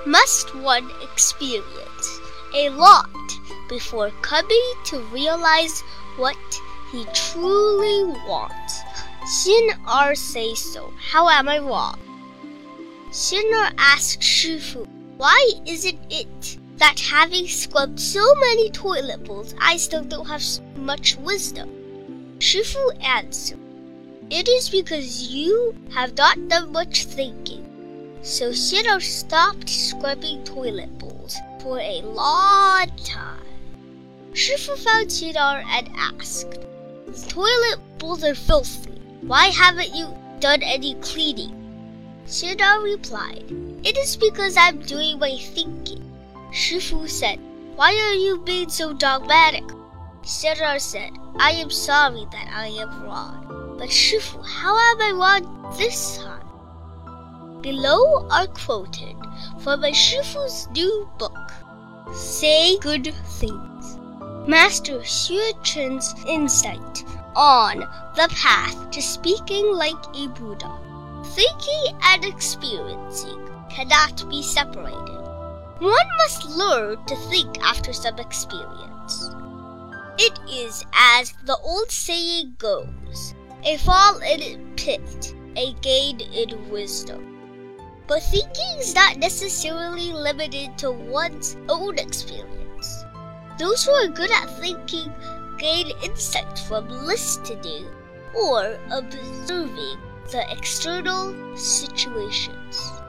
must one experience a lot before coming to realize what he truly wants. Xin says so. How am I wrong? Xin asked Shifu, why isn't it that having scrubbed so many toilet bowls, I still don't have much wisdom? Shifu answered, it is because you have not done much thinking. So Xin stopped scrubbing toilet bowls for a long time. Shifu found Xin and asked, the toilet bowls are filthy. Why haven't you done any cleaning? Xin replied, it is because I'm doing my thinking. Shifu said, why are you being so dogmatic? Xin said, I am sorry that I am wrong. But Shifu, how am I wrong this time? Below are quoted from Shifu's new book, Say Good Things, Master Xue Chen's insight on the path to speaking like a Buddha. Thinking and experiencing cannot be separated. One must learn to think after some experience. It is as the old saying goes, a fall in a pit, a gain in wisdom. But thinking is not necessarily limited to one's own experience. Those who are good at thinking gain insight from listening or observing the external situations.